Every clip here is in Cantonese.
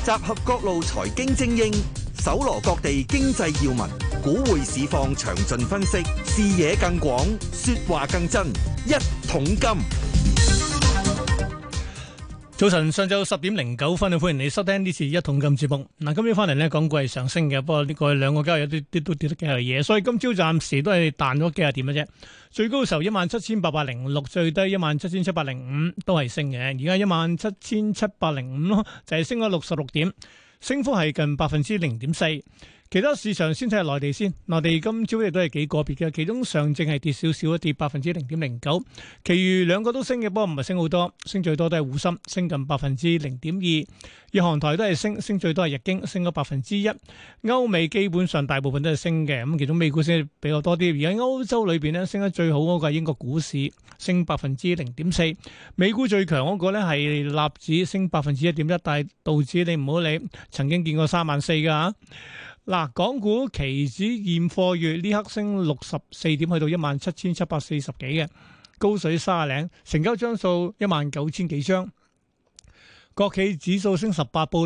集合各路財經精英，搜羅各地經濟要聞，股匯市況詳盡分析，視野更廣，說話更真。一桶金。 早晨，上晝10:09，歡迎你收聽呢次一桶金節目。嗱，今朝翻嚟呢，港股係上升嘅，不過呢個兩個交易有啲都跌得幾係嘢，所以今朝暫時都係彈咗幾廿點嘅啫。最高嘅時候17,806，最低17,705，都係升嘅。而家17,705咯，就係升咗66點，升幅係近0.4%。其他市場先睇下內地先，內地今朝亦都係幾個別嘅，其中上證係跌少少，跌0.09%，其餘兩個都升嘅，不過唔係升好多，升最多都係滬深，升近0.2%，日韓台都係升，升最多係日經，升咗1%，歐美基本上大部分都係升嘅，咁其中美股升比較多啲，而喺歐洲裏邊咧升得最好嗰個係英國股市，升0.4%，美股最強嗰個咧係納指升1.1%，但係道指你唔好理，曾經見過34,000㗎嚇。嗱，港股期指現貨月呢刻升64點，去到17,740幾嘅，高水30零，成交張數19,000幾張。國企指數升18，報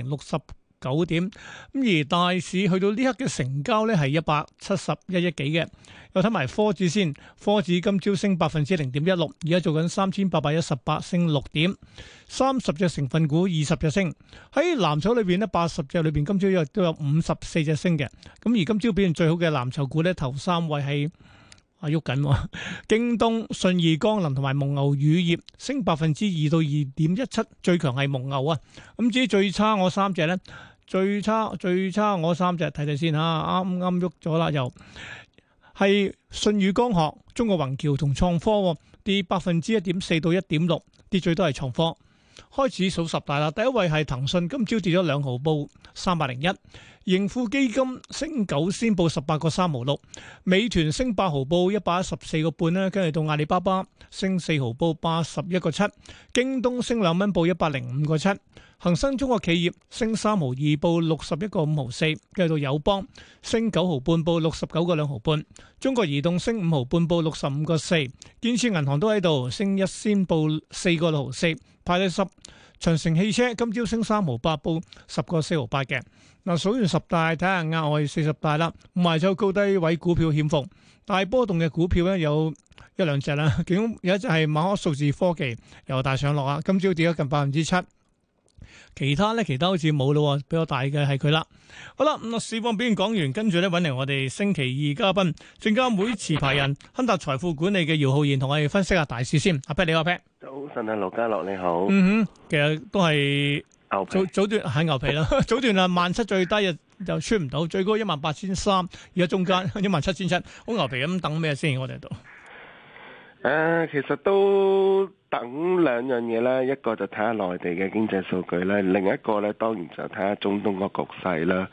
6,069點。咁而大市去到呢刻嘅成交咧係171億幾嘅。又睇埋科指先，科指今朝升0.16%，而家做緊3,818，升6點。30隻成分股20隻升，喺藍籌裏邊呢80隻裏邊今朝都有54隻升嘅。咁而今朝表現最好嘅藍籌股呢，頭3位係喐緊，京東、信義光能同埋蒙牛乳業升2%到2.17%，最強係蒙牛啊。咁至於最差我3隻呢，最差我3隻睇睇先嚇，啱啱喐咗啦，又係舜宇光學、中國宏橋同創科跌1.4%到1.6%，跌最多係創科。開始數十大啦，第一位係騰訊，今朝跌咗2毫，報301；盈富基金升9仙，報18個3毫6；美團升8毫，報114個半啦，跟住到阿里巴巴升4毫，報81個7；京東升2蚊，報105個7；恒生中國企業升3毫2，報61個5毫4；跟住到友邦升9毫半，報69個2毫半；中國移動升5毫半，報65個4；建設銀行都喺度升1仙，報4個6毫4。派第10，長城汽車今朝升3毫8，報10個4毫8嘅。嗱，數完10大，睇下額外40大啦。賣咗高低位股票險逢，大波動嘅股票咧有一兩隻啦。其中有一隻係馬可數字科技，由大上落啊，今朝跌咗近7%。其他好似冇咯，比較大嘅係佢啦。好啦，咁市況表現講完，跟住咧揾嚟我哋星期二嘉賓，證監會持牌人亨達財富管理嘅姚浩然同我哋分析下大市先。阿 Pat 你好，阿 Pat。 早晨啊，盧家樂你好。 其實都係早段喺牛皮啦，早段啊17000最低就穿唔到，最高18300，而家中間17700，好牛皮咁等咩先？我哋度。 其實都等兩樣嘢啦，一個就睇下內地嘅經濟數據啦，另一個咧當然就睇下中東個局勢啦。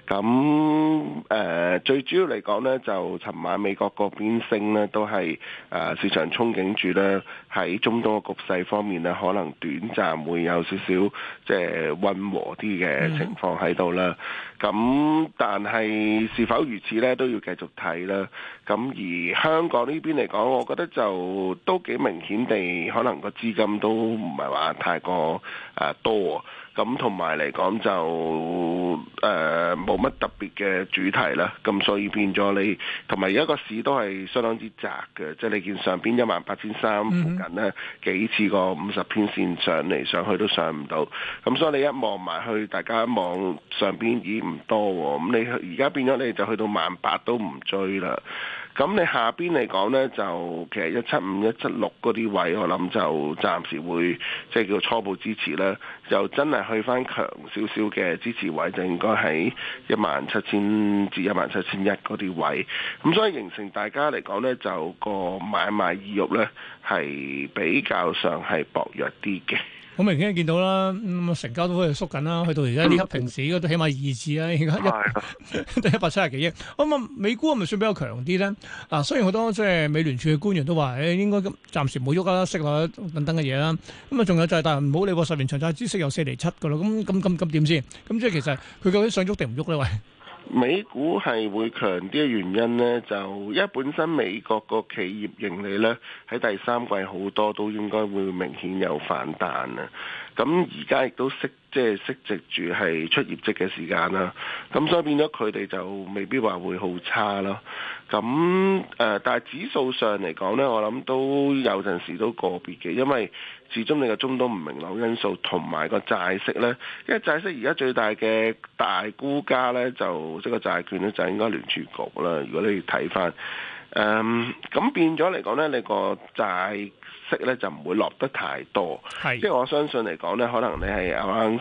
咁最主要嚟講呢，就尋晚美國嗰邊升呢，都係市場憧憬住呢，喺中東個局勢方面呢，可能短暫會有少少即係溫和啲嘅情況喺度啦。咁但係是否如此呢，都要繼續睇啦。咁而香港呢邊嚟講，我覺得就都幾明顯地，可能個資金都唔係話太過多。咁同埋嚟講就冇乜特別嘅主題啦，咁所以變咗你同埋而家個市都係相當之窄嘅，即係你見上邊18300附近呢，幾次個50天線上嚟上去都上唔到，咁所以你一望埋去，大家一望上邊已經唔多喎，咁你而家變咗你就去到18000都唔追啦。咁你下邊嚟講呢，就其實175、176嗰啲位，我諗就暫時會即係叫初步支持啦。就真係去翻強少少嘅支持位，就應該喺17000至17100嗰啲位。咁所以形成大家嚟講呢，就個買賣意欲呢係比較上係薄弱啲嘅。 好明顯見到啦，成交都喺度縮緊啦，去到而家呢刻平時應該都起碼2次啦，而家都170幾億。咁啊，美股係咪算比較強啲咧？嗱，雖然好多即係美聯儲嘅官員都話，應該暫時冇喐啦，息率等等嘅嘢啦。咁啊，仲有就係，但係唔好理喎，10年長債孳息有4厘7㗎啦。咁點先？咁即係其實佢究竟想喐定唔喐咧？喂？ 美股係會強啲嘅原因呢，就因為本身美國個企業盈利呢，喺第三季好多都應該會明顯有反彈啊。咁而家亦都適即係息藉住係出業績嘅時間啦，咁所以變咗佢哋就未必話會好差咯。咁但係指數上嚟講呢，我諗都有陣時都個別嘅，因為始終你個中東唔明朗因素同埋個債息呢，因為債息而家最大嘅大估家呢，就即係個債券呢，就應該聯儲局啦。如果你睇翻咁變咗嚟講呢，你個債息咧就唔會落得太多，即係我相信嚟講咧，可能你係啱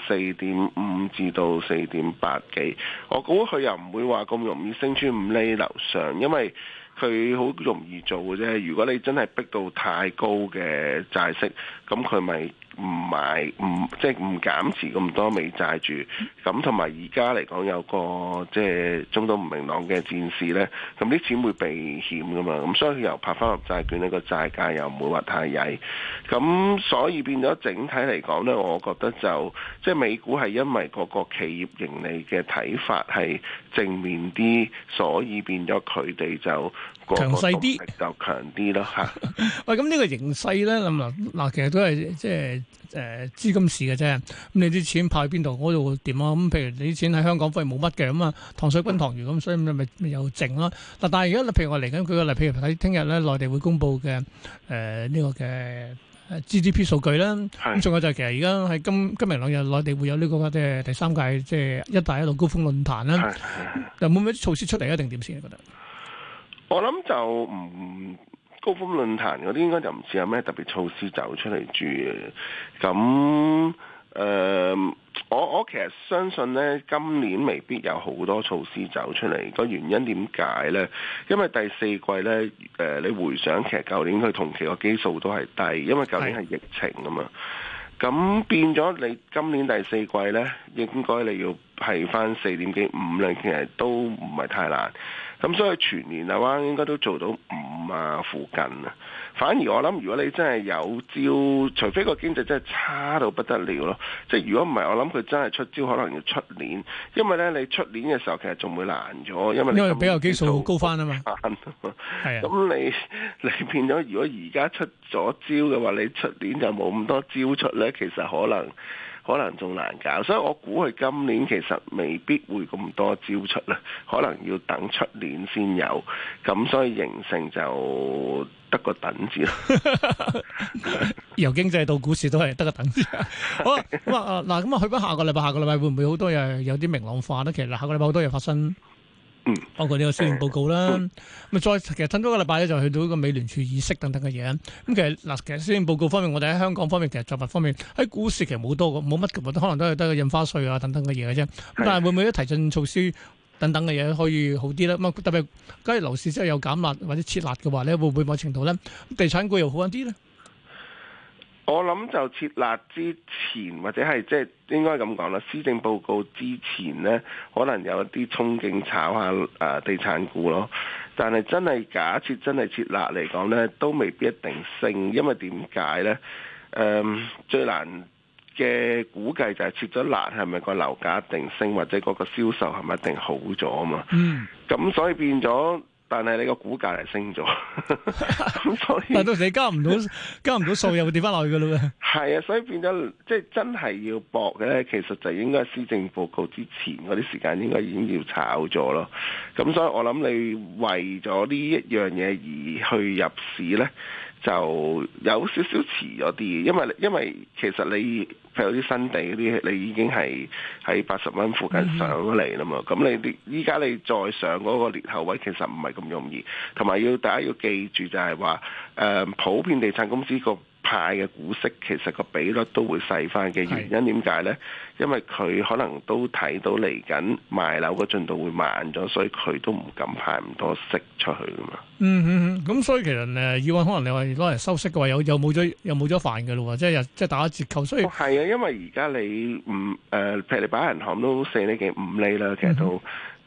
4.5至到4.8幾，我估佢又唔會話咁容易升穿5厘樓上，因為佢好容易做嘅啫。如果你真係逼到太高嘅債息，咁佢咪即係唔減持咁多美債住，咁同埋而家嚟講有個即係中東唔明朗嘅戰事呢，咁啲錢會避險噶嘛，咁所以佢又拍翻入債券呢，個債價又唔會話太曳，咁所以變咗整體嚟講呢，我覺得就即係美股係因為嗰個企業盈利嘅睇法係正面啲，所以變咗佢哋就強勢啲， 就強啲咯嚇。 喂，咁呢個形勢咧，嗱，其實都係即係資金市嘅啫。咁你啲錢派去邊度，嗰度點啊？咁譬如你啲錢喺香港反而冇乜嘅，咁啊糖水滾糖魚咁，所以咪又靜咯。嗱，但係而家譬如我嚟緊舉個例，譬如睇聽日咧，內地會公布嘅呢個嘅GDP 數據啦。咁仲有就係其實而家喺今明兩日，內地會有呢個即係第3屆即係一帶一路高峰論壇啦。有冇咩措施出嚟一定點先？你覺得？我諗就唔高峰論壇嗰啲應該就唔似有咩特別措施走出嚟住嘅。咁我其實相信呢，今年未必有好多措施走出嚟。個原因點解呢？因為第4季呢，你回想其實舊年佢同期個基數都係低，因為舊年係疫情啊嘛。咁變咗你今年第4季呢，應該你要係翻4點幾5咧，其實都唔係太難。咁所以全年嘅話應該都做到5啊附近啊。反而我諗，如果你真係有招，除非個經濟真係差到不得了咯。即係如果唔係，我諗佢真係出招，可能要出年。因為咧，你出年嘅時候其實仲會難咗，因為比較基數高翻啊嘛。 係啊。咁你變咗，如果而家出咗招嘅話，你出年就冇咁多招出咧，其實可能仲難搞，所以我估佢今年其實未必會咁多招出啦，可能要等出年先有，咁所以形成就得個等字咯。 由經濟到股市都係得個等字。好啊，咁啊嗱，咁啊去翻下個禮拜會唔會好多嘢有啲明朗化咧？其實下個禮拜好多嘢發生。包括呢個施政報告啦，咁再其實等多個禮拜咧，就去到一個美聯儲議息等等嘅嘢。咁其實施政報告方面，我哋喺香港方面，其實作物方面喺股市其實冇乜嘅，可能都係得個印花稅啊等等嘅嘢嘅啫。咁但係會唔會啲提振措施等等嘅嘢可以好啲咧？咁特別假如樓市真係有減辣或者撤辣嘅話咧，會唔會某程度咧地產股又好一啲咧？ 我諗就設立之前或者係即係應該咁講啦，施政報告之前呢，可能有一啲憧憬炒下地產股咯。但係真係假設真係設立嚟講呢，都未必一定升，因為點解呢？最難嘅估計就係設咗辣係咪個樓價一定升，或者嗰個銷售係咪一定好咗啊嘛？咁所以變咗。但係你個股價係升咗，咁所以但到時你加唔到數，又會跌翻落去噶啦喎。 係啊，所以變咗即係真係要搏嘅咧，其實就應該施政報告之前嗰啲時間應該已經要炒咗咯。咁所以我諗你為咗呢一樣嘢而去入市咧，就有少少遲咗啲，因為其實你譬如啲新地嗰啲，你已經係喺80蚊附近上咗嚟啦嘛。咁你依家你再上嗰個裂口位，其實唔係咁容易。同埋大家要記住就係話，普遍地產公司個派嘅股息其實個比率都會細翻嘅原因點解呢？因為佢可能都睇到嚟緊賣樓個進度會慢咗，所以佢都唔敢派咁多息出去噶嘛。 咁所以其實以往可能你話攞嚟收息嘅話，又冇咗飯嘅咯喎，即係打折扣。所以係啊，因為而家你譬如你擺銀行都4厘幾5厘啦，其實都。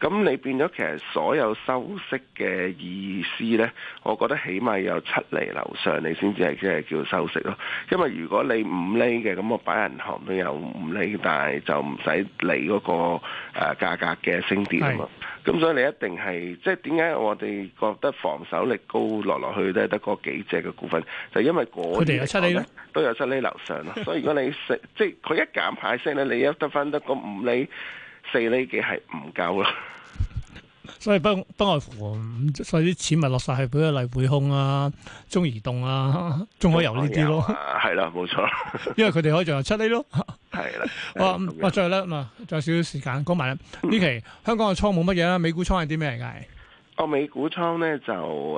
咁你變咗其實所有收息嘅意思呢，我覺得起碼有7厘樓上，你先至係即係叫收息咯。因為如果你5厘嘅，咁我擺銀行都有5厘，但係就唔使理嗰個價格嘅升跌啊嘛。咁所以你一定係即係點解我哋覺得防守力高落去都係得嗰幾隻嘅股份，就因為嗰啲嚟講咧都有7厘樓上咯。所以如果你即係佢一減派息咧，你一得翻得個5厘、4厘幾係唔夠咯。 所以不外乎，所以啲錢咪落晒去，比如例匯控啊、中移動啊、中海油呢啲咯。 係啦，冇錯。 因為佢哋可以仲有7厘咯。 係啦。 哇！最後咧仲有少少時間講埋啦。呢期香港嘅倉冇乜嘢啦，美股倉係啲咩嚟㗎？ 美股倉咧就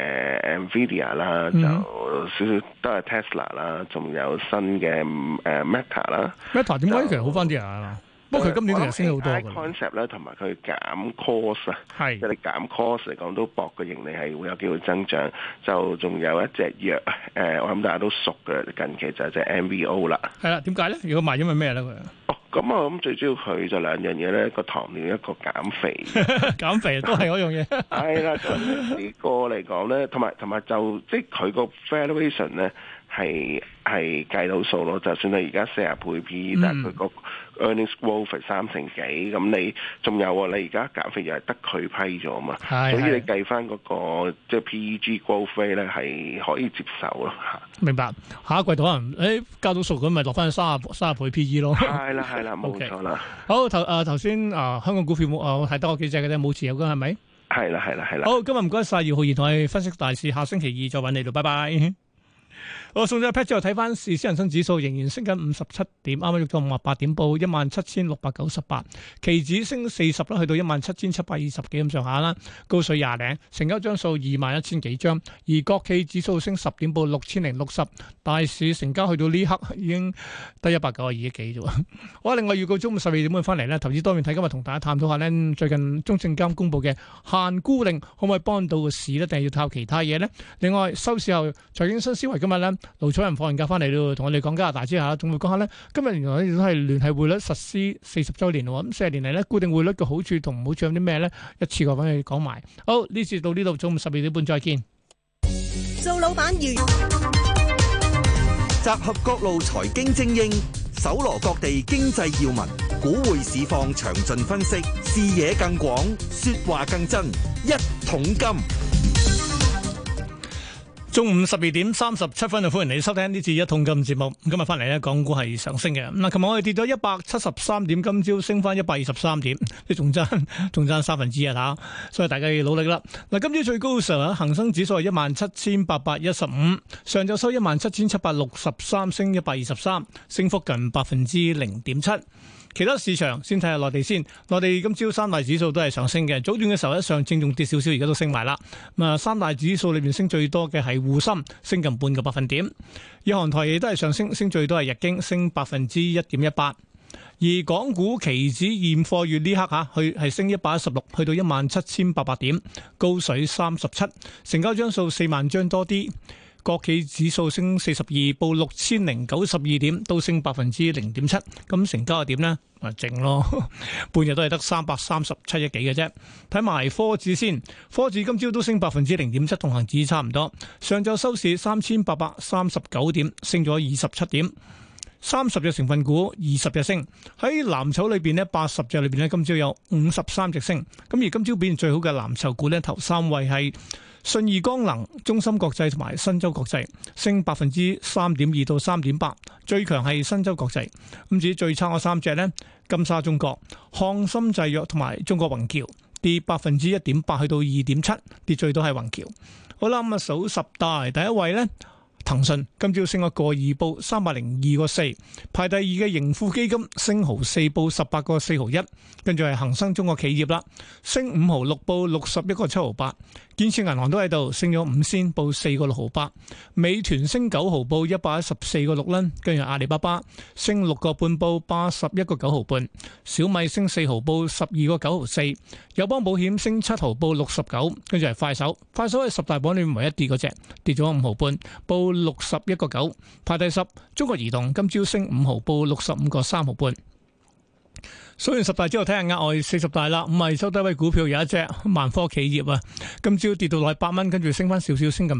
Nvidia 啦，就少少都係 Tesla 啦，仲有新嘅Meta 啦。 Meta 點解其實好翻啲啊？不過佢今年其實升好多嘅。 concept 咧，同埋佢減 cost 啊，即係你減 cost 嚟講都博個盈利係會有機會增長。就仲有一隻藥，我諗大家都熟嘅，近期就係隻 MVO 啦。係啦， 點解咧？如果賣因為咩咧佢？ 咁我諗最主要佢就兩樣嘢咧，一個糖尿，一個減肥。 減肥都係嗰樣嘢。 係啦，咁呢個嚟講咧，同埋就即係佢個 valuation 咧係計到數咯。就算你而家40倍 P，但係佢個 earnings growth 係3成幾，咁你仲有你而家減肥又係得佢批咗嘛，所以你計翻嗰個即係 PEG growth rate 咧係可以接受咯嚇。 明白，下一季度可能交到數咁咪落翻30倍 PE 咯。 係啦，冇錯啦。 好頭先香港股票我睇多幾隻嘅啫，冇持有嘅係咪？ 係啦。 好，今日唔該晒姚浩然同我哋分析大市，下星期2再揾你度，拜拜。我送咗 pat 之後睇翻市，恒生指數仍然升緊57點，啱啱喐咗58點，報17698，期指升40啦，去到17720幾咁上下啦，高水20零，成交張數21000幾張，而國企指數升10點，報6060，大市成交去到呢刻已經得192億幾啫。好，另外預告中午12點半翻嚟咧，投資多面睇，今日同大家探討下呢，最近中證監公布嘅限沽令可唔可以幫到個市呢？定係要靠其他嘢呢？另外收市後財經新思維今日咧。盧楚仁放完假翻嚟咯，同我哋講加拿大之下，仲會講下咧。今日原來都係聯繫匯率實施40週年喎，咁40年嚟咧固定匯率嘅好處同唔好處有啲咩咧？一次過揾佢講埋。好，呢次到呢度，中午12點半再見。 做老闆集合各路財經精英，搜羅各地經濟要聞，股匯市況詳盡分析，視野更廣，說話更真，一桶金。 中午12點37分，就歡迎你收聽呢次一桶金節目。今日翻嚟咧，港股係上升嘅。嗱，琴日我哋跌咗173點，今朝升翻123點，即係仲爭1/3啊！所以大家要努力啦。嗱，今朝最高嘅時候，恒生指數係17815，上晝收17763，升123，升幅近0.7%。其他市場先睇下內地先，內地今朝三大指數都係上升嘅。早段嘅時候上證仲跌少少，而家都升埋啦。三大指數裏面升最多嘅係滬深，升近半個百分點。日韓台亦都係上升，升最多係日經，升1.18%。而港股期指現貨月呢刻係升116，去到17800點，高水37，成交張數4萬張多啲。國企指數升42，報6092點，都升0.7%。咁成交係點呢？靜咯，半日都係得337億幾嘅啫。睇埋科指先，科指今朝都升0.7%，同恒指差唔多。上晝收市3839點，升咗27點。30隻成分股20隻升，喺藍籌裏邊呢80隻裏邊呢，今朝有53隻升。咁而今朝表現最好嘅藍籌股呢，頭3位係信義光能、中芯國際同埋新洲國際，升3.2%到3.8%，最強係新洲國際。咁至於最差嗰3隻呢，金沙中國、漢森製藥同埋中國宏橋，跌1.8%去到2.7%，跌最多係宏橋。好啦，咁數十大第一位呢。騰訊今朝升咗個2，報302個4，排第2嘅盈富基金升毫4，報18個4毫1，跟住係恒生中國企業啦，升5毫6，報61個7毫8，建設銀行都喺度升咗5仙，報4個6毫8，美團升9毫，報114個6啦，跟住阿里巴巴升6個半，報81個9毫半，小米升4毫，報12個9毫4，友邦保險升7毫，報69，跟住係快手係10大榜裏面唯一跌嗰隻，跌咗5毫半，報61個9，排第10。中國移動今朝升5毫，報65個3毫半。 數完十大之後，睇下額外40大啦。咁係收低位股票有一隻萬科企業啊，今朝跌到落8蚊，跟住升翻少少，升近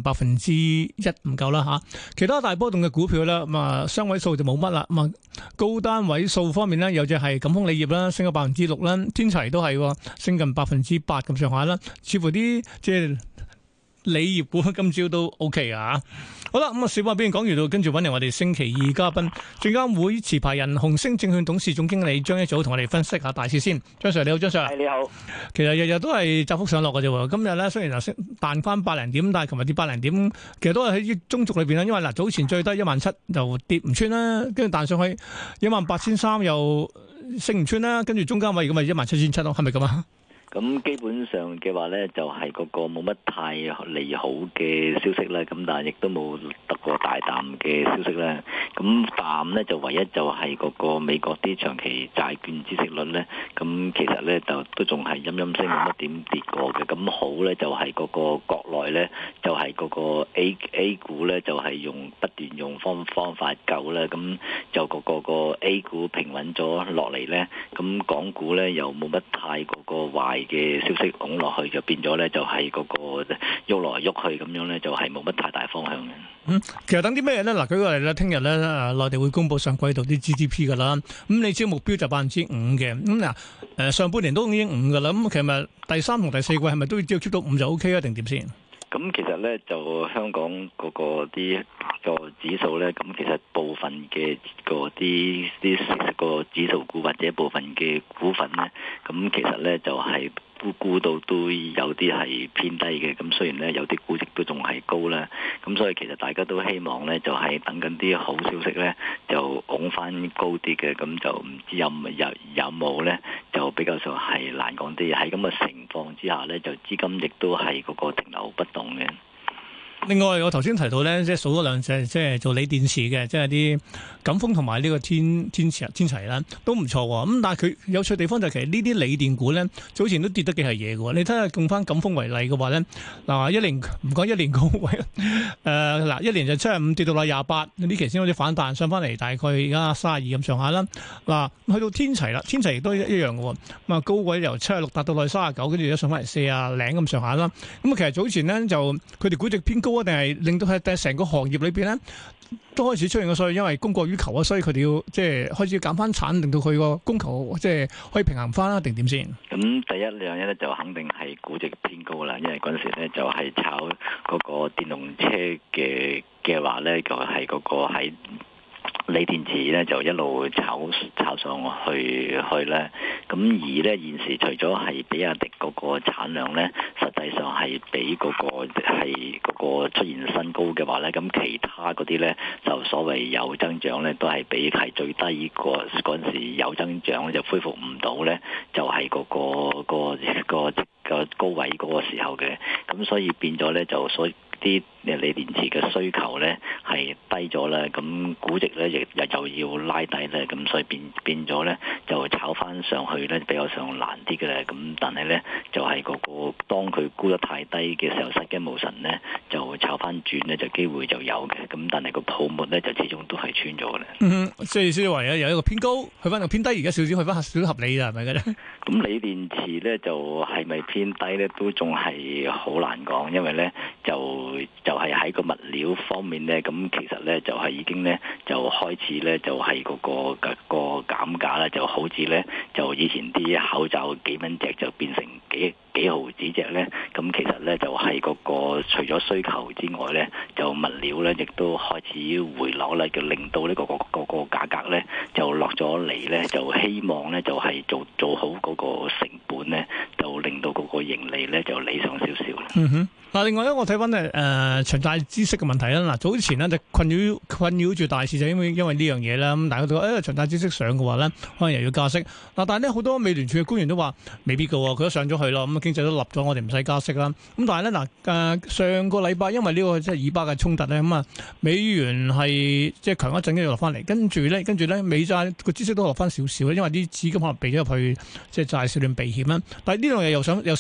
1%唔夠啦吓。其他大波動嘅股票咧，咁啊雙位數就冇乜啦。咁啊高單位數方面咧，有隻係錦豐鋰業啦，升咗6%啦，天齊都係升近8%咁上下啦。似乎啲即係鋰業股今朝都 OK 啊。好啦，咁啊，小巴邊講完到，跟住揾嚟我哋星期二嘉賓，證監會持牌人紅星證券董事總經理張一祖同我哋分析下大市先。張 Sir 你好，張 Sir。 係你好。 其實日日都係窄幅上落嘅啫。今日咧雖然就升彈翻百零點，但係琴日跌百零點，其實都係喺中軸裏邊啦。因為嗱早前最低17,000就跌唔穿啦，跟住彈上去18,300又升唔穿啦，跟住中間位咁咪17,700咯，係咪咁啊？ 咁基本上嘅話呢，就係嗰個冇乜太利好嘅消息啦。咁但係亦都冇得過大淡嘅消息啦。咁淡呢，就唯一就係嗰個美國啲長期債券孳息率呢。咁其實呢，就都仲係陰陰升，冇乜點跌過嘅。咁好呢，就係嗰個國內呢，就係嗰個 A 股呢，就係不斷用方法救啦。咁就個 A 股平穩咗落嚟呢。咁港股呢，又冇乜太嗰個壞嘅消息拱落去，就變咗咧，就係嗰個喐來喐去咁樣咧，就係冇乜太大方向嘅。 其實等啲咩咧？嗱，舉個例咧，聽日咧，內地會公布上季度啲 GDP 噶啦。咁你知目標就5%嘅。咁嗱，上半年都已經5噶啦。咁其實第三同第四季係咪都只要 keep 到5就 OK 啊？定點先？ 咁其實咧，就香港嗰個啲個指數咧，咁其實部分嘅個啲個指數股或者部分嘅股份咧，咁其實咧就係估到都有啲係偏低嘅。咁雖然咧有啲估值都仲係高啦，咁所以其實大家都希望咧就係等緊啲好消息咧就拱翻高啲嘅。咁就唔知有冇咧，就比較上係難講啲。喺咁嘅情況之下咧，就資金亦都係嗰個停留不動嘅。 另外，我頭先提到咧，即係數咗兩隻，即係做鋰電池嘅，即係啲贛鋒同埋呢個天齊啦，都唔錯喎。咁但係佢有趣地方就係其實呢啲鋰電股咧，早前都跌得幾係嘢嘅喎。你睇下用翻贛鋒為例嘅話咧，嗱一年唔講一年高位，嗱一年就75跌到落28，呢期先好似反彈上翻嚟，大概而家32咁上下啦。嗱去到天齊啦，天齊亦都一樣嘅喎。咁啊高位由76達到落去39，跟住而家上翻嚟40零咁上下啦。咁啊其實早前咧就佢哋估值偏高，定係令到係成個行業裏邊咧都開始出現個所謂因為供過於求啊，所以佢哋要即係開始要減翻產，令到佢個供求即係可以平衡翻啦，定點先？咁第一樣嘢咧就肯定係估值偏高啦，因為嗰陣時咧就係炒嗰個電動車嘅話咧，就係嗰個喺鋰電池咧就一路炒上去咧，咁而咧現時除咗係比亞迪嗰個產量咧，實際上係比嗰個出現新高嘅話咧，咁其他嗰啲咧就所謂有增長咧，都係比係最低嗰陣時有增長就恢復唔到咧，就係嗰個高位嗰個時候嘅，咁所以變咗咧就所以啲鋰電池嘅需求咧係低咗啦，咁估值咧亦又要拉低咧，咁所以變咗咧就炒翻上去咧比較上難啲嘅咧，咁但係咧就係嗰個當佢估得太低嘅時候失驚無神咧，就炒翻轉咧就機會就有嘅，咁但係個泡沫咧就始終都係穿咗嘅咧。 即係意思話有一個偏高，去翻個偏低，而家少少去翻少少合理啦，係咪嘅咧？ 咁鋰電池咧就係咪偏低咧，都仲係好難講，因為咧就係喺個物料方面咧，咁其實咧就係已經咧就開始咧就係嗰個減價啦，就好似咧就以前啲口罩幾蚊隻就變成幾毫子隻咧，咁其實咧就係嗰個除咗需求之外咧，就物料咧亦都開始回落啦，就令到呢個價格咧就落咗嚟咧，就希望咧就係做好嗰個成本咧，就令到嗰個盈利咧就理想少少。 嗱，另外咧，我睇翻咧長債孳息嘅問題啦。嗱，早前咧就困擾住大市，就因為呢樣嘢啦。咁大家都話長債孳息上嘅話咧，可能又要加息。嗱，但係咧好多美聯儲嘅官員都話未必㗎喎，佢都上咗去咯。咁經濟都立咗，我哋唔使加息啦。咁但係咧上個禮拜因為呢個即係以巴嘅衝突咧，咁啊美元係即係強一陣，跟住落翻嚟，跟住咧美債個孳息都落翻少少，因為啲資金可能避咗入去即係債市裏面避險啦。但係呢樣嘢又升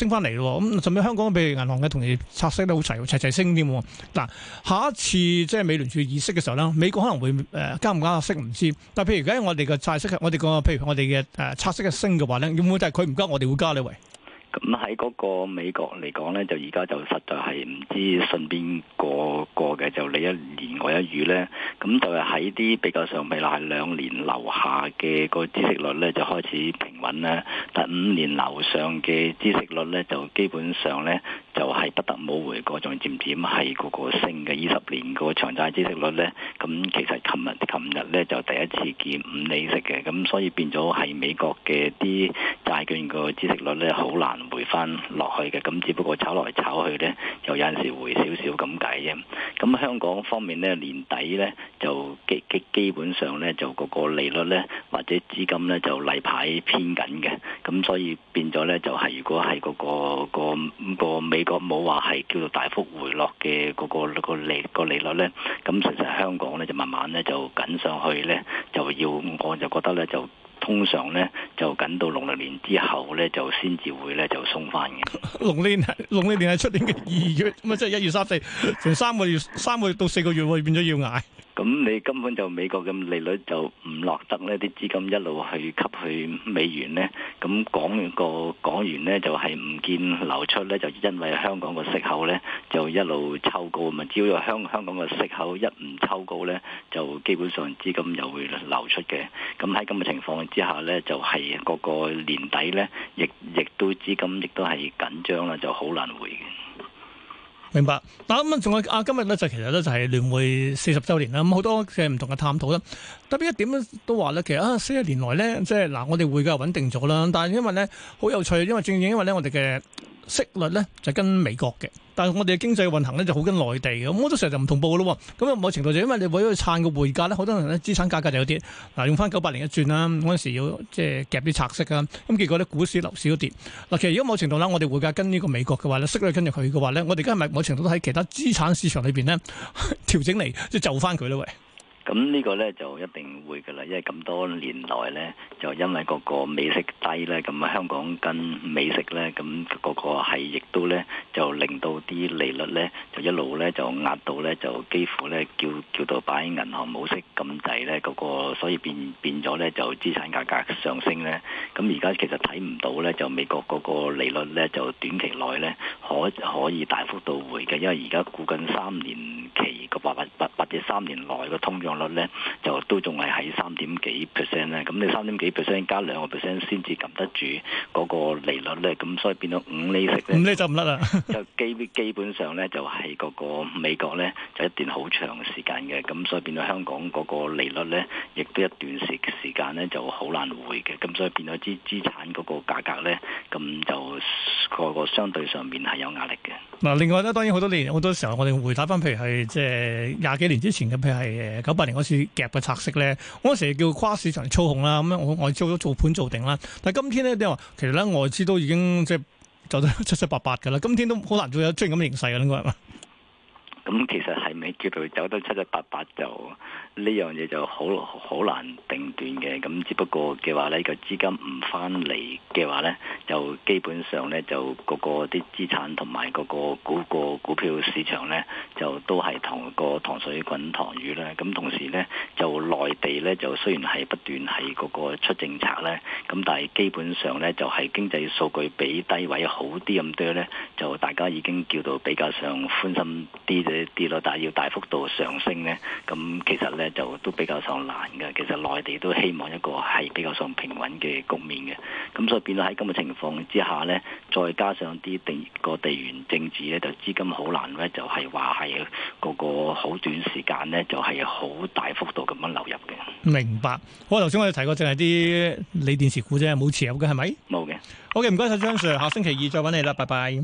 升翻嚟咯。咁甚至香港譬如銀行嘅同業拆息都好齊升添。嗱，下一次即係美聯儲議息嘅時候咧，美國可能會加唔加息唔知。但係譬如而家我哋嘅債息，我哋個譬如我哋嘅拆息嘅升嘅話咧，會唔會就係佢唔加，我哋會加呢？喂？ 咁喺嗰個美國嚟講咧，就而家就實在係唔知順邊個嘅，就你一言我一語咧。咁就係喺啲比較上，譬如係2年樓下嘅個孳息率咧，就開始平穩啦。但5年樓上嘅孳息率咧，就基本上咧就係不得冇回過，仲漸漸係個升嘅。20年個長債孳息率咧，咁其實琴日咧就第一次見5厘息嘅，咁所以變咗係美國嘅啲債券個孳息率咧好難回翻落去嘅，咁只不過炒來炒去咧，就有陣時回少少咁解啫。咁香港方面咧，年底咧就基本上咧就個利率咧或者資金咧就例牌偏緊嘅，咁所以變咗咧就係如果係個美國冇話係叫做大幅回落嘅個利率咧，咁其實香港咧就慢慢咧就緊上去咧，我就覺得咧就。通常咧就緊到農曆年之後咧，就先至會咧就鬆翻嘅。 農曆年係出年嘅2月，咁啊即係1月3、4，成3個月到4個月會變咗要捱。 咁你根本就美國嘅利率就唔落得呢啲資金一路去吸去美元呢。咁港元呢，就係唔見流出呢，就因為香港個息口呢，就一路抽高啊嘛。只要香港個息口一唔抽高呢，就基本上資金又會流出嘅。咁喺咁嘅情況之下呢，就係個年底呢，亦都資金亦都係緊張啦，就好難回嘅。 明白，嗱咁仲有今日咧就其實咧就係聯會40週年啦，咁好多嘅唔同嘅探討啦。特別一點咧都話咧，其實40年來咧，即係嗱，我哋匯價穩定咗啦，但係因為咧好有趣，因為正因為咧我哋嘅息率咧就跟美國嘅，但係我哋嘅經濟運行咧就好跟內地嘅，咁好多時候就唔同步嘅咯。咁某程度就因為你為咗去撐個匯價咧，好多人咧資產價格就有啲嗱，用翻98年一轉啦，嗰陣時要即係夾啲拆息啊，咁結果咧股市樓市都跌。嗱，其實如果某程度啦，我哋匯價跟呢個美國嘅話咧，息率跟住佢嘅話咧，我哋而家係咪某程度都喺其他資產市場裏邊咧調整嚟即係就翻佢咧？喂！ 咁呢個呢就一定會㗎啦，因為咁多年來呢，就因為嗰個美息低呢，咁香港跟美息呢，咁嗰個係亦都呢，就令到啲利率呢，就一路呢，就壓到呢，就幾乎呢，叫到擺銀行冇息咁滯呢，嗰個所以變咗呢，就資產價格上升呢。咁而家其實睇唔到呢，就美國嗰個利率呢，就短期內呢，可以大幅度回嘅，因為而家估緊3年期個或者3年內個通脹率咧就都仲係喺3點幾%咧，咁你3點幾%加2% 先至撳得住嗰個利率咧，咁所以變到5厘息咧 ，5厘就唔甩啦， 就基本上咧就係嗰個美國咧就一段好長時間嘅，咁所以變到香港嗰個利率咧，亦都一段時間咧就好難回嘅，咁所以變咗資產嗰個價格咧，咁就個相對上面係有壓力嘅。 嗱，另外咧，當然好多時候我哋回睇翻，譬如係即係20幾年之前嘅，譬如係98年嗰次夾嘅拆息咧，嗰陣時叫跨市場操控啦，咁樣我外資都做盤做定啦。但係今天咧，你話其實咧外資都已經即係走得七七八八㗎啦，今天都好難做有出現咁嘅形勢㗎，應該係嘛？咁其實係咪叫做走得七七八八就呢樣嘢就好難定斷嘅，咁只不過嘅話呢個資金唔翻嚟嘅話呢，就基本上呢，就個啲資產同埋個股票市場呢，就都係同個糖水滾糖魚啦。咁同時呢，就內地呢，就雖然係不斷係個出政策呢，咁但係基本上呢，就係經濟數據比低位好啲咁多呢，就大家已經叫到比較上寬心啲咯，但係要大幅度上升呢，咁其實呢就都比較上難嘅。其實內地都希望一個係比較上平穩嘅局面嘅，咁所以變到喺咁嘅情況之下呢，再加上啲地緣政治呢，就資金好難呢，就係話係個好短時間呢，就係好大幅度咁樣流入嘅。 明白。好，頭先我哋提過淨係啲鋰電池股啫，冇持有嘅係咪？冇嘅。好嘅，唔該晒張 Sir，下星期2再揾你啦，拜拜。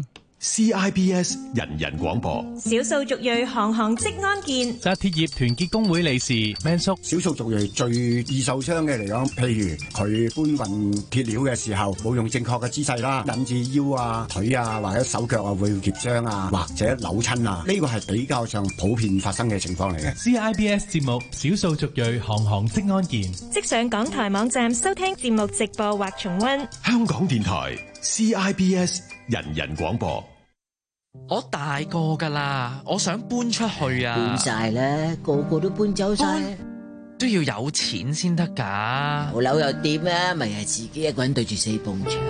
CIBS 人人廣播， 少數族裔行行職安健， 紮鐵業團結工會理事 Man 叔， 少數族裔最易受傷嘅嚟講，譬如佢搬運鐵料嘅時候冇用正確嘅姿勢啦，引致腰啊、腿啊或者手腳啊會跌傷啊，或者扭親啊，呢個係比較上普遍發生嘅情況嚟嘅。 CIBS 節目少數族裔行行職安健， 即上港台網站收聽節目直播或重溫。 香港電台 CIBS 人人廣播。 我大個噶啦，我想搬出去啊！ 搬晒啦，個個都搬走晒， 都要有錢先得噶。 冇樓又點啊？咪係自己一個人對住4埲牆。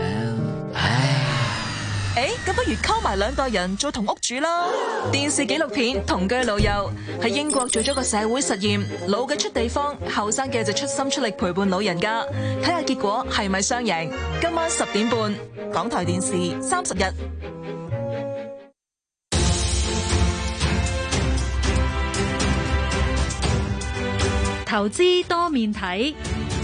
唉，咁不如溝埋2代人做同屋主啦。電視紀錄片《同居老友》喺英國做咗個社會實驗，老嘅出地方，後生嘅就出心出力陪伴老人家，睇下結果係咪雙贏。今晚10點半，港台電視30日。 投資多面睇。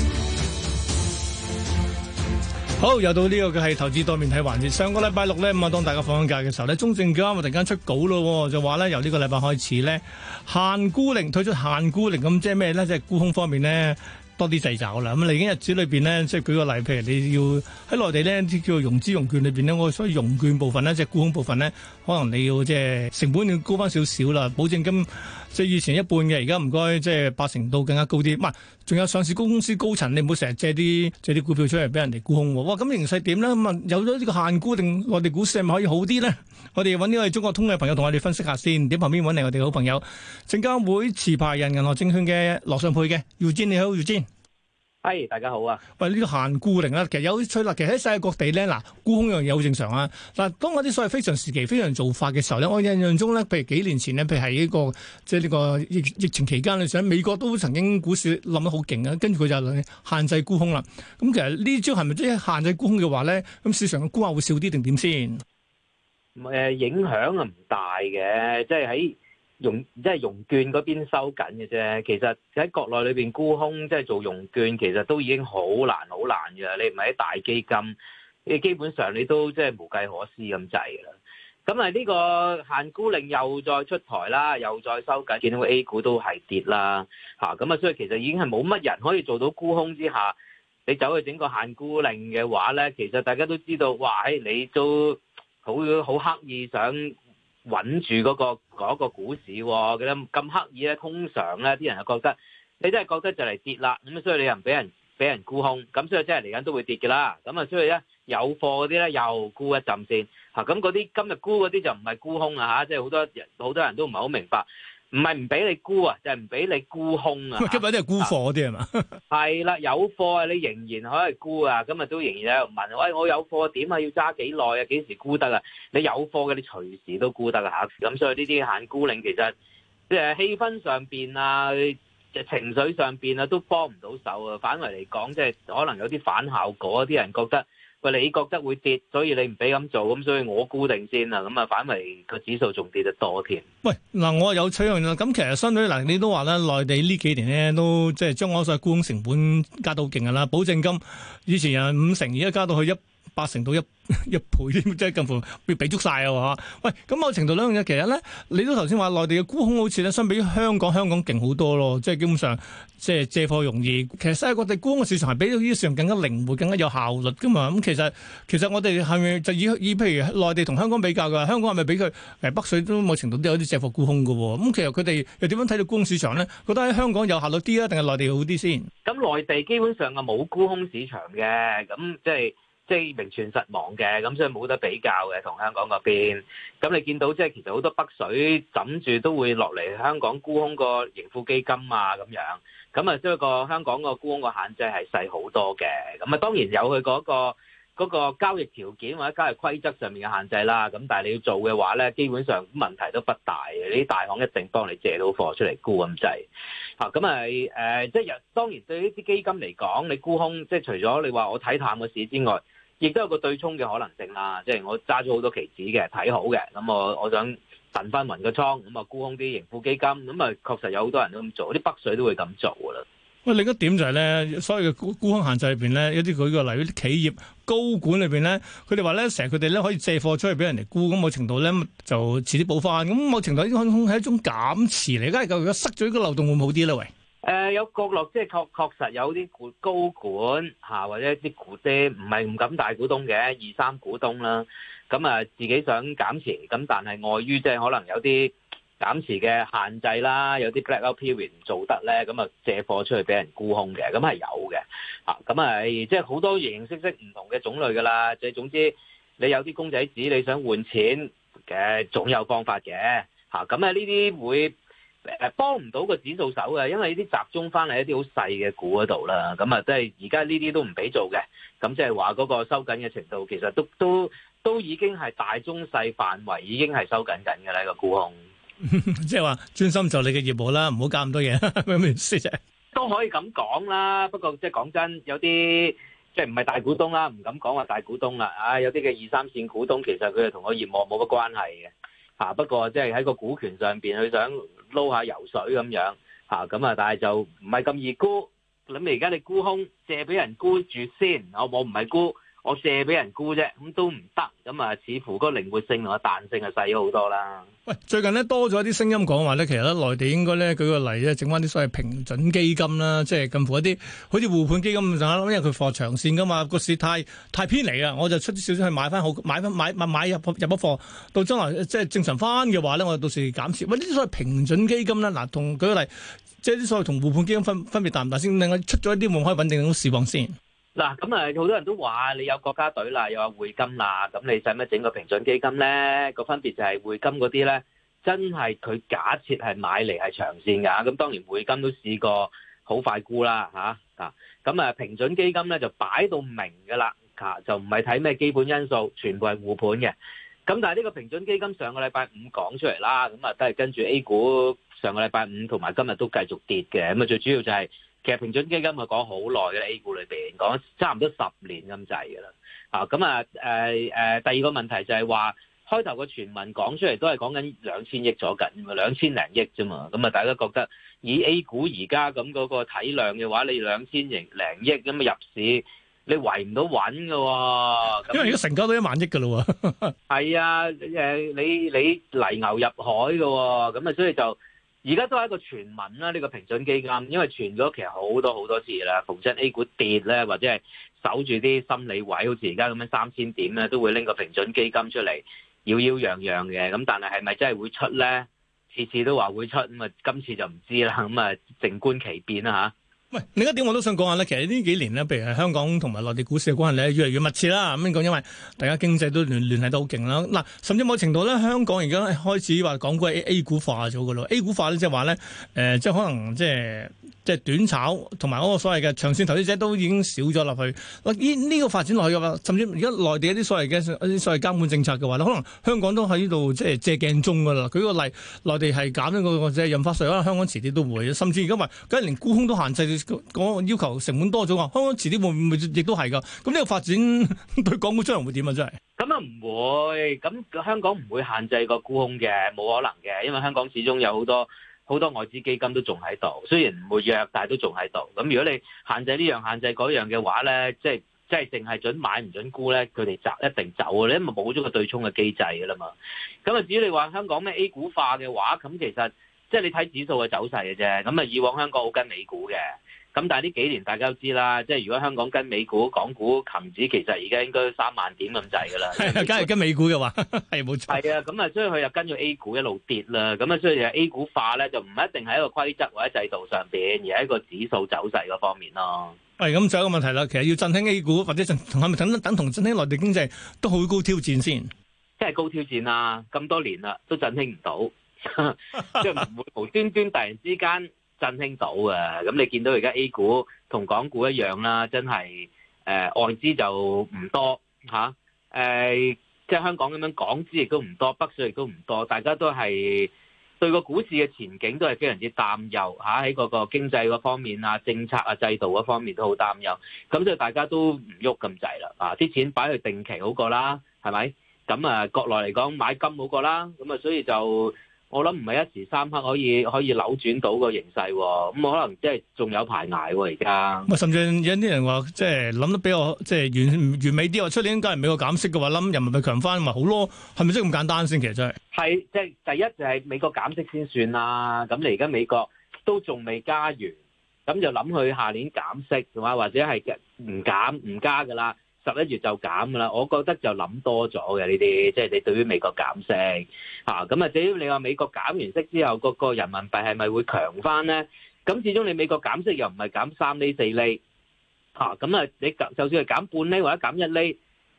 好，又到呢個嘅係投資多面睇環節。上個禮拜六咧，咁啊當大家放緊假嘅時候咧，中證監突然間出稿咯，就話咧由呢個禮拜開始咧，限沽令推出限沽令，咁即係咩咧？即係沽空方面咧多啲掣肘啦。咁嚟緊日子裏邊咧，即係舉個例，譬如你要喺內地咧啲叫做融資融券裏邊咧，我所以融券部分咧，即係沽空部分咧，可能你要即係成本要高翻少少啦，保證金即係以前一半嘅，而家唔該即係80%到更加高啲。唔係，仲有上市公司高層，你唔好成日借啲股票出嚟俾人哋沽空喎。哇！咁形勢點咧？咁啊有咗呢個限沽令，我哋股市係咪可以好啲咧？我哋揾呢個中國通嘅朋友同我哋分析下先。點旁邊揾嚟我哋好朋友證監會持牌人銀河證券嘅羅尚沛嘅Eugene，你好Eugene。 係，大家好啊！ 喂，呢個限沽令啦，其實有趣啦。其實喺世界各地咧，嗱沽空樣嘢好正常啊。嗱，當嗰啲所謂非常時期、非常做法嘅時候咧，我印象中咧，譬如幾年前咧，譬如係呢個即係呢個疫情期間，你想美國都曾經股市冧得好勁啊，跟住佢就限制沽空啦。咁其實呢招係咪即係限制沽空嘅話咧，咁市場嘅沽壓會少啲定點先？ 影響啊唔大嘅，即係喺融券嗰邊收緊嘅啫。其實喺國內裏邊沽空，即係做融券，其實都已經好難嘅。你唔係喺大基金，你基本上你都即係無計可施咁滯噶啦。咁啊呢個限沽令又再出台啦，又再收緊，見到 A 股都係跌啦嚇。咁啊，所以其實已經係冇乜人可以做到沽空之下，你走去整個限沽令嘅話咧，其實大家都知道，哇！你都好刻意想穩住嗰個股市喎，咁刻意咧，通常咧啲人就覺得你真係覺得就嚟跌啦，咁所以你又唔俾人沽空，咁所以即係嚟緊都會跌嘅啦。咁啊，所以咧有貨嗰啲咧又沽一陣先嚇，咁嗰啲今日沽嗰啲就唔係沽空啊嚇，即係好多人都唔係好明白，唔係唔俾你沽啊，就係唔俾你沽空啊。 今日啲係沽貨嗰啲係嘛？ 係啦，有貨啊，你仍然可以沽啊。今日都仍然喺度問，喂，我有貨點啊？要揸幾耐啊？幾時沽得啊？你有貨嘅，你隨時都沽得啊嚇。咁所以呢啲限沽令其實即係氣氛上邊啊，情緒上邊啊，都幫唔到手啊。反為嚟講，即係可能有啲反效果，啲人覺得。喂，你覺得會跌，所以你唔俾咁做，咁所以我沽定先啦。咁啊，反為個指數仲跌得多添。 喂，嗱，我有取樣啦。咁其實相對嗱，你都話咧，內地呢幾年咧都即係將我所謂沽空成本加到好勁噶啦，保證金以前有50%，而家加到去80%到一倍，即係近乎要俾足晒啊！嚇，喂，咁某程度兩樣嘢，其實咧，你都頭先話內地嘅沽空好似咧，相比於香港勁好多咯，即係基本上即係借貨容易。其實世界各地沽空嘅市場係比呢啲市場更加靈活、更加有效率噶嘛。咁其實我哋係咪就以譬如內地同香港比較㗎？香港係咪比佢北水都某程度都有啲借貨沽空㗎喎？咁其實佢哋又點樣睇到沽空市場咧？覺得喺香港有效率啲啊，定係內地好啲先？ 咁內地基本上係冇沽空市場嘅，咁即係名存實亡嘅，咁所以冇得比較嘅同香港嗰邊。咁你見到即係其實好多北水枕住都會落嚟香港沽空個盈富基金啊咁樣。咁啊，即係個香港個沽空個限制係細好多嘅。咁啊，當然有佢嗰個交易條件或者交易規則上面嘅限制啦。咁但係你要做嘅話咧，基本上問題都不大嘅。呢啲大行一定幫你借到貨出嚟沽咁滯。嚇，咁即係當然對呢啲基金嚟講，你沽空即係除咗你話我睇淡個市之外，亦都有個對沖嘅可能性啦，即係我揸咗好多期指嘅，睇好嘅，咁我想燉翻勻個倉，咁啊沽空啲盈富基金，咁啊確實有好多人都咁做，啲北水都會咁做噶啦。 喂，另一點就係咧，所謂嘅沽空限制裏邊咧，一啲舉個例，啲企業高管裏邊咧，佢哋話咧，成日佢哋咧可以借貨出去俾人哋沽，咁某程度咧就遲啲補翻，咁某程度呢啲係一種減持嚟，而家如果塞咗呢個漏洞會唔會好啲咧？喂？ 有角落，即係確實有啲高管嚇，或者啲唔係唔敢大股東嘅2、3股東啦，咁啊自己想減持，咁但係礙於即係可能有啲減持嘅限制啦，有啲 blackout period 唔做得咧，咁啊借貨出去俾人沽空嘅，咁係有嘅嚇，咁啊即係好多形形色色唔同嘅種類噶啦，即係總之你有啲公仔紙你想換錢嘅，總有方法嘅嚇。咁呢啲會幫唔到個指數手嘅，因為呢啲集中翻嚟一啲好細嘅股嗰度啦。咁啊，即係而家呢啲都唔俾做嘅。咁即係話嗰個收緊嘅程度，其實都已經係大中細範圍已經係收緊嘅啦，個沽空。 即係話專心做你嘅業務啦，唔好搞咁多嘢，咩意思啫？ 都可以咁講啦，不過即係講真，有啲即係唔係大股東啦，唔敢講話大股東啦。有啲嘅二三線股東，其實佢哋同個業務冇乜關係嘅嚇。不過即係喺個股權上邊，佢想撈下油水咁樣嚇，咁啊，但係就唔係咁易沽。咁而家你沽空借俾人沽住先，我唔係沽，我借俾人沽啫，咁都唔得。咁啊，似乎嗰個靈活性同個彈性係細咗好多啦。 喂，最近咧多咗啲聲音講話咧，其實咧內地應該咧舉個例咧，整翻啲所謂平準基金啦，即係近乎一啲好似互換基金咁上下，因為佢貨長線噶嘛，個市太偏離啊，我就出啲少少去買翻好，買入咗貨，到將來即係正常翻嘅話咧，我到時減少。喂，呢啲所謂平準基金咧，嗱，同舉個例，即係啲所謂同互換基金分別大唔大先？另外出咗一啲會唔可以穩定到市況先？ 嗱，咁啊，好多人都話你有國家隊啦，又話匯金啦，咁你使乜整個平準基金咧？個分別就係匯金嗰啲咧，真係佢假設係買嚟係長線㗎。咁當然匯金都試過好快沽啦嚇。咁啊平準基金咧就擺到明㗎啦，就唔係睇咩基本因素，全部係護盤嘅。咁但係呢個平準基金上個禮拜五講出嚟啦，咁啊都係跟住 A 股上個禮拜五同埋今日都繼續跌嘅。咁啊最主要就係其實平準基金係講好耐嘅 A 股裏邊，講差唔多10年咁滯㗎啦。咁啊第二個問題就係話開頭個傳聞講出嚟都係講緊2000億左近，2000零億啫嘛。咁啊大家覺得以 A 股而家咁嗰個體量嘅話，你2000零億咁入市，你圍唔到穩㗎喎。 因為而家成交都1萬億㗎咯喎。 係啊，你泥牛入海㗎喎，咁啊所以就。而家都係一個傳聞啦，呢個平準基金，因為傳咗其實好多次啦。逢親 A 股跌咧，或者係守住啲心理位，好似而家咁樣3000點咧，都會拎個平準基金出嚟，擾擾攘攘嘅。咁但係係咪真係會出咧？次次都話會出，咁啊今次就唔知啦。咁啊靜觀其變啦嚇。 喂，另一點我都想講下咧，其實呢幾年咧，譬如係香港同埋內地股市嘅關係咧，越嚟越密切啦。咁樣講，因為大家經濟都聯繫得好勁啦。嗱，甚至某程度咧，香港而家開始話港股係 A 股化咗㗎咯。A 股化咧，即係話咧，即係可能即係短炒同埋嗰個所謂嘅長線投資者都已經少咗落去。呢個發展落去嘅話，甚至而家內地一啲所謂監管政策嘅話咧，可能香港都喺呢度即係借鏡中㗎啦。舉個例，內地係減咗個即係印花稅，可能香港遲啲都會。甚至而家話，梗係連沽空都限制。個要求成本多咗啊！香港遲啲會唔會亦都係噶？咁呢個發展對港股將來會點啊？真係咁啊唔會，咁香港唔會限制個沽空嘅，冇可能嘅，因為香港始終有好多外資基金都仲喺度，雖然唔會弱，但係都仲喺度。咁如果你限制呢樣限制嗰樣嘅話咧，即係淨係準買唔準沽咧，佢哋一定走嘅，你因為冇咗個對沖嘅機制噶啦嘛。咁啊至於你話香港咩 A 股化嘅話，咁其實即係你睇指數嘅走勢嘅啫。咁啊以往香港好跟美股嘅。咁但係呢幾年大家都知啦，即係如果香港跟美股、港股、琴指，其實而家應該3萬點咁滯㗎啦。 梗係跟美股嘅話，係冇錯。 係啊，咁啊，所以佢又跟住 A 股一路跌啦。咁啊，所以 A 股化咧就唔一定喺一個規則或者制度上邊，而係一個指數走勢嗰方面咯。 喂，咁仲有一個問題啦，其實要振興 A 股或者係咪等同振興內地經濟都好高挑戰先？ 即係高挑戰啊！咁多年啦，都振興唔到，即係唔會無端端突然之間振興到嘅。咁你見到而家 A 股同港股一樣啦，真係外資就唔多嚇，即係香港咁樣港資亦都唔多，北水亦都唔多，大家都係對個股市嘅前景都係非常之擔憂嚇，喺嗰個經濟嗰方面啊、政策啊、制度嗰方面都好擔憂，咁所以大家都唔喐咁滯啦，啲錢擺去定期好過啦，係咪？咁啊，國內嚟講買金好過啦，咁啊，所以就我諗唔係一時三刻可以扭轉到個形勢，咁可能即係仲有排捱喎而家。 甚至有啲人話，即係諗得比較即係完美啲，話出年假如美國減息嘅話，諗人民幣強翻咪好咯？係咪真係咁簡單先？其實真係係即係第一就係美國減息先算啦。咁你而家美國都仲未加完，咁就諗佢下年減息嘅話，或者係唔加㗎啦。11月就減㗎啦，我覺得就諗多咗嘅呢啲，即係你對於美國減息嚇，咁啊至於你話美國減完息之後，個人民幣係咪會強翻咧？咁始終你美國減息又唔係減3厘4厘嚇，咁啊你就算係減半厘或者減1厘，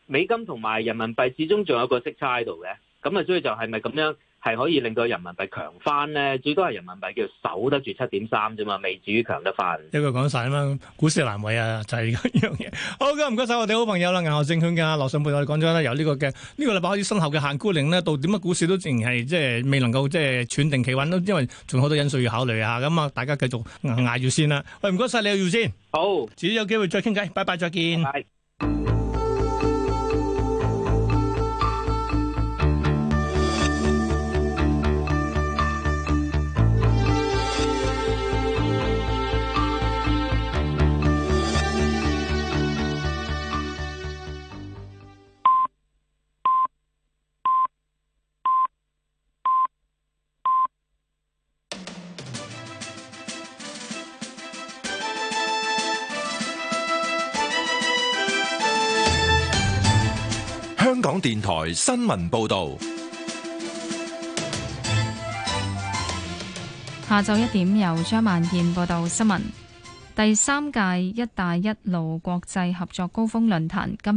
美金同埋人民幣始終仲有個息差喺度嘅，咁啊，所以就係咪咁樣係可以令到人民幣強翻咧？最多係人民幣叫守得住7.3啫嘛，未至於強得翻。 一句講晒啊嘛，股市難為啊，就係呢樣嘢。好嘅，唔該晒我哋好朋友啦，銀河證券嘅羅尚沛我哋講咗啦，由呢個嘅呢個禮拜開始生效嘅限沽令呢，到點解股市都仍然係即係未能夠即係喘定企穩咯，因為仲有好多因素要考慮啊。咁啊，大家繼續捱住先啦。喂，唔該晒你要先。 好， 遲啲有機會再傾偈，拜拜，再見。 拜拜。 香港電台新聞報道， 下晝1點由張萬燕報道新聞。第3屆「一帶一路」國際合作高峰論壇今